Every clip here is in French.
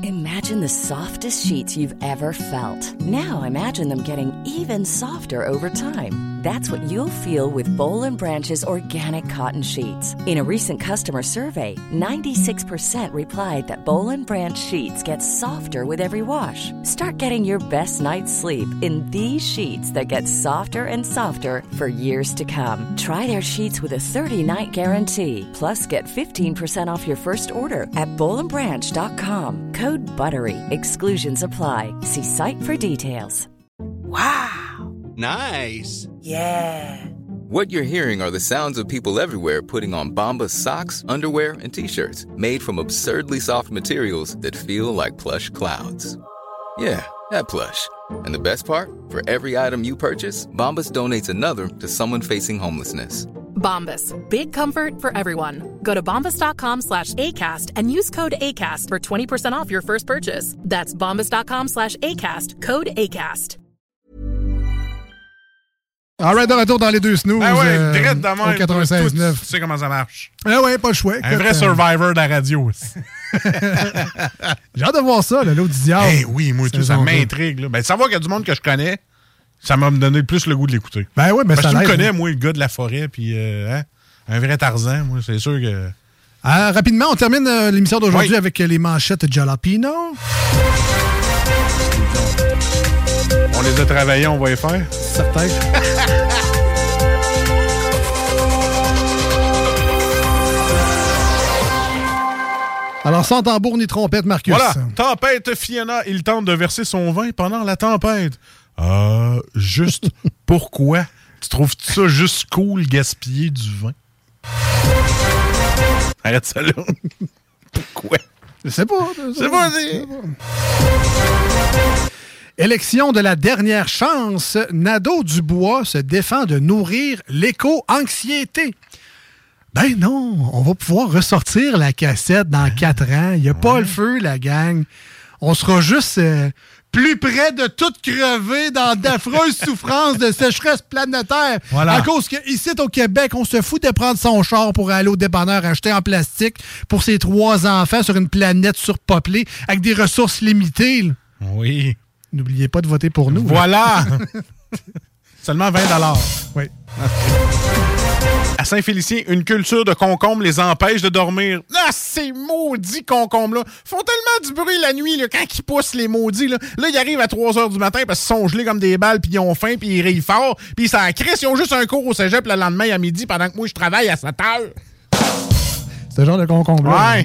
Imagine the softest sheets you've ever felt. Now imagine them getting even softer over time. That's what you'll feel with Boll & Branch's organic cotton sheets. In a recent customer survey, 96% replied that Boll & Branch sheets get softer with every wash. Start getting your best night's sleep in these sheets that get softer and softer for years to come. Try their sheets with a 30-night guarantee. Plus, get 15% off your first order at bollandbranch.com. Code BUTTERY. Exclusions apply. See site for details. Wow. Nice. Yeah. What you're hearing are the sounds of people everywhere putting on Bombas socks, underwear, and T-shirts made from absurdly soft materials that feel like plush clouds. Yeah, that plush. And the best part? For every item you purchase, Bombas donates another to someone facing homelessness. Bombas. Big comfort for everyone. Go to bombas.com/ACAST and use code ACAST for 20% off your first purchase. That's bombas.com/ACAST. Code ACAST. All right, de retour dans les deux snooze. Ah ouais, direct de même. 96.9. Tu sais comment ça marche. Ah ouais, pas le choix. Un vrai survivor de la radio. J'ai hâte de voir ça, l'autre du diable. Eh oui, moi, tout ça m'intrigue. Ben, savoir qu'il y a du monde que je connais, ça m'a donné plus le goût de l'écouter. Ben oui, mais parce ça que tu l'aide. me connais, moi, le gars de la forêt, puis un vrai Tarzan, moi, c'est sûr que... Rapidement, on termine l'émission d'aujourd'hui avec les manchettes Jalapino. On les a travaillés, on va les faire. Certain. Alors, sans tambour ni trompette, Marcus. Voilà, tempête Fiona, il tente de verser son vin pendant la tempête. Juste pourquoi? Tu trouves ça juste cool, gaspiller du vin? Arrête ça là. Pourquoi? Je sais pas. C'est pas. Élection de la dernière chance, Nadeau-Dubois se défend de nourrir l'éco-anxiété. Ben non, on va pouvoir ressortir la cassette dans 4 ans. Il n'y a pas le feu, la gang. On sera juste plus près de tout crever dans d'affreuses souffrances de sécheresse planétaire. Voilà. À cause qu'ici, au Québec, on se fout de prendre son char pour aller au dépanneur acheter en plastique pour ses 3 enfants sur une planète surpeuplée avec des ressources limitées. Là. Oui. N'oubliez pas de voter pour nous. Voilà! Seulement 20 $. Oui. À Saint-Félicien, une culture de concombres les empêche de dormir. Ah, ces maudits concombres-là font tellement du bruit la nuit, là, quand ils poussent les maudits. Là, ils arrivent à 3 h du matin parce qu'ils sont gelés comme des balles, puis ils ont faim, puis ils rient fort, puis ils s'en crissent. Ils ont juste un cours au cégep le lendemain à midi pendant que moi, je travaille à 7 h. C'est ce genre de concombre. Ouais.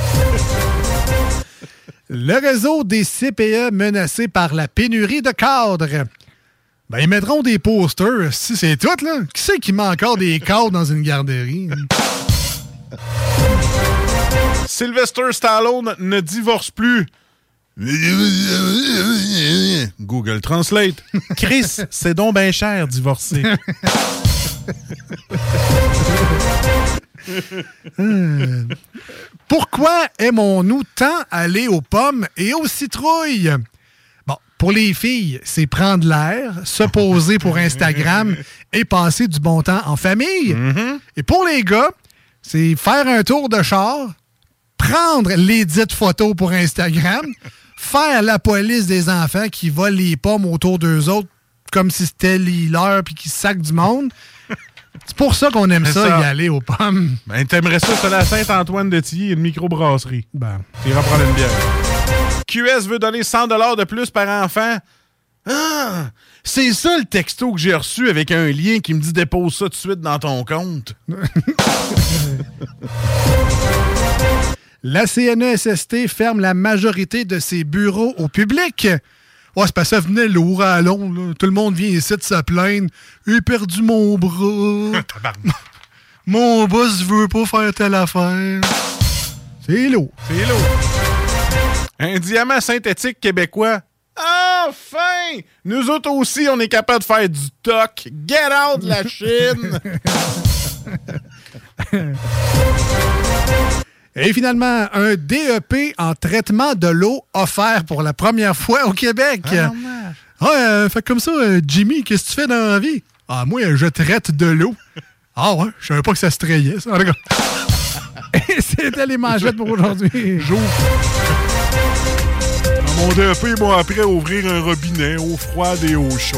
Le réseau des CPE menacé par la pénurie de cadres. Ben, ils mettront des posters. Si c'est tout, là. Qui c'est qui met encore des cadres dans une garderie? Sylvester Stallone ne divorce plus. Google Translate. Chris, c'est donc bien cher divorcer. Pourquoi aimons-nous tant aller aux pommes et aux citrouilles? Bon, pour les filles, c'est prendre l'air, se poser pour Instagram et passer du bon temps en famille. Mm-hmm. Et pour les gars, c'est faire un tour de char, prendre les dites photos pour Instagram, faire la police des enfants qui volent les pommes autour d'eux autres comme si c'était les leurs puis qui sacent du monde. C'est pour ça qu'on aime ça, y aller aux pommes. Ben, t'aimerais ça, c'est la Saint-Antoine-de-Tilly, une microbrasserie. Ben. T'iras prendre une bière. QS veut donner 100 $ de plus par enfant. Ah! C'est ça le texto que j'ai reçu avec un lien qui me dit dépose ça tout de suite dans ton compte. La CNESST ferme la majorité de ses bureaux au public. Ouais, c'est parce que ça venait lourd à long. Là. Tout le monde vient ici de se plaindre. J'ai perdu mon bras. Mon boss veut pas faire telle affaire. C'est lourd. C'est lourd. Un diamant synthétique québécois. Enfin! Nous autres aussi, on est capable de faire du toc. Get out de la Chine! Et finalement, un DEP en traitement de l'eau offert pour la première fois au Québec. Fait comme ça, Jimmy, qu'est-ce que tu fais dans la vie? Ah, moi, je traite de l'eau. Ah ouais, je savais pas que ça se trayait, ça. En tout cas. Et c'était les manchettes pour aujourd'hui. Mon DEP, ils m'ont appris à ouvrir un robinet, eau froide et eau chaude.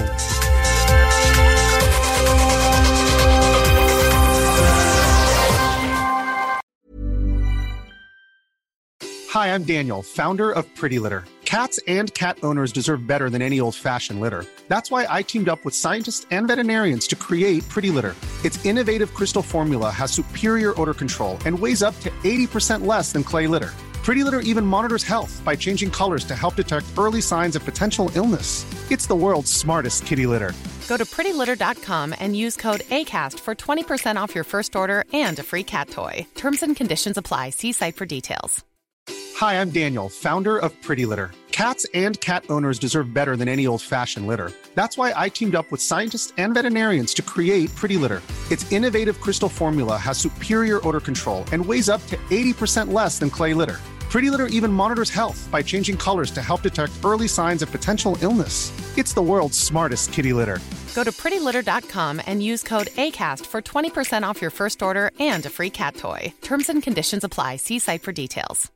Hi, I'm Daniel, founder of Pretty Litter. Cats and cat owners deserve better than any old-fashioned litter. That's why I teamed up with scientists and veterinarians to create Pretty Litter. Its innovative crystal formula has superior odor control and weighs up to 80% less than clay litter. Pretty Litter even monitors health by changing colors to help detect early signs of potential illness. It's the world's smartest kitty litter. Go to prettylitter.com and use code ACAST for 20% off your first order and a free cat toy. Terms and conditions apply. See site for details. Hi, I'm Daniel, founder of Pretty Litter. Cats and cat owners deserve better than any old-fashioned litter. That's why I teamed up with scientists and veterinarians to create Pretty Litter. Its innovative crystal formula has superior odor control and weighs up to 80% less than clay litter. Pretty Litter even monitors health by changing colors to help detect early signs of potential illness. It's the world's smartest kitty litter. Go to prettylitter.com and use code ACAST for 20% off your first order and a free cat toy. Terms and conditions apply. See site for details.